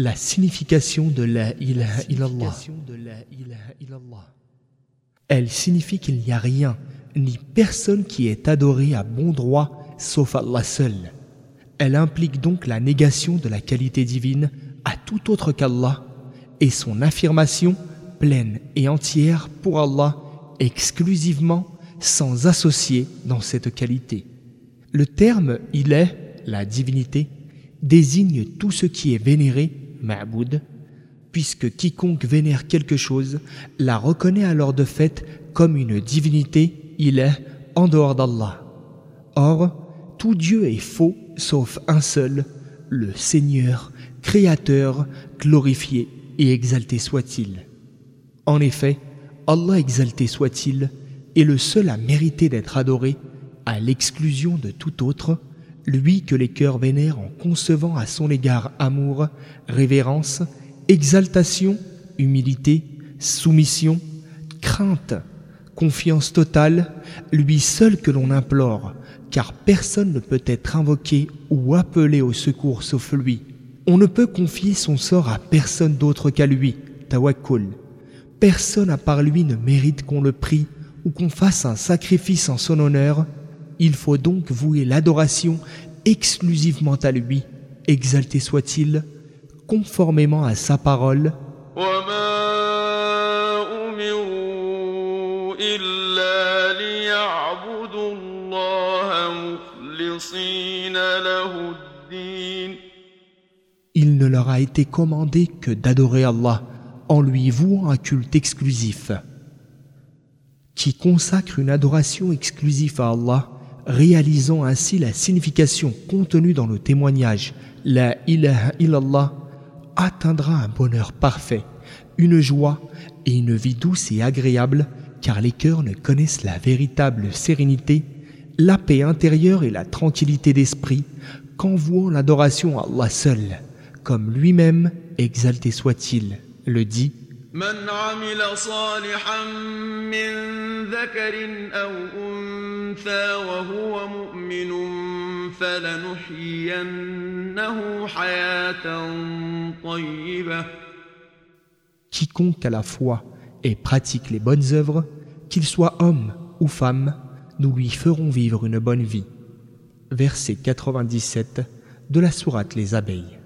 La signification de la ilaha illallah. Elle signifie qu'il n'y a rien, ni personne qui est adoré à bon droit, sauf Allah seul. Elle implique donc la négation de la qualité divine à tout autre qu'Allah et son affirmation pleine et entière pour Allah exclusivement, sans associer dans cette qualité. Le terme « il est », la divinité, désigne tout ce qui est vénéré, ma'boud, puisque quiconque vénère quelque chose la reconnaît alors de fait comme une divinité, il est, en dehors d'Allah. Or, tout Dieu est faux sauf un seul, le Seigneur, Créateur, glorifié et exalté soit-il. En effet, Allah exalté soit-il est le seul à mériter d'être adoré, à l'exclusion de tout autre, lui que les cœurs vénèrent en concevant à son égard amour, révérence, exaltation, humilité, soumission, crainte, confiance totale, lui seul que l'on implore, car personne ne peut être invoqué ou appelé au secours sauf lui. On ne peut confier son sort à personne d'autre qu'à lui, tawakkul. Personne à part lui ne mérite qu'on le prie ou qu'on fasse un sacrifice en son honneur. Il faut donc vouer l'adoration exclusivement à lui, exalté soit-il, conformément à sa parole. Il ne leur a été commandé que d'adorer Allah en lui vouant un culte exclusif. Qui consacre une adoration exclusive à Allah, réalisant ainsi la signification contenue dans le témoignage « La ilaha illallah » atteindra un bonheur parfait, une joie et une vie douce et agréable, car les cœurs ne connaissent la véritable sérénité, la paix intérieure et la tranquillité d'esprit qu'en vouant l'adoration à Allah seul, comme lui-même, exalté soit-il, le dit. من عمل صالحا من ذكر أو أنثى وهو مؤمن فلنحيينه حياة طيبة. Quiconque a la foi et pratique les bonnes œuvres, qu'il soit homme ou femme, nous lui ferons vivre une bonne vie. Verset 97 de la sourate Les Abeilles.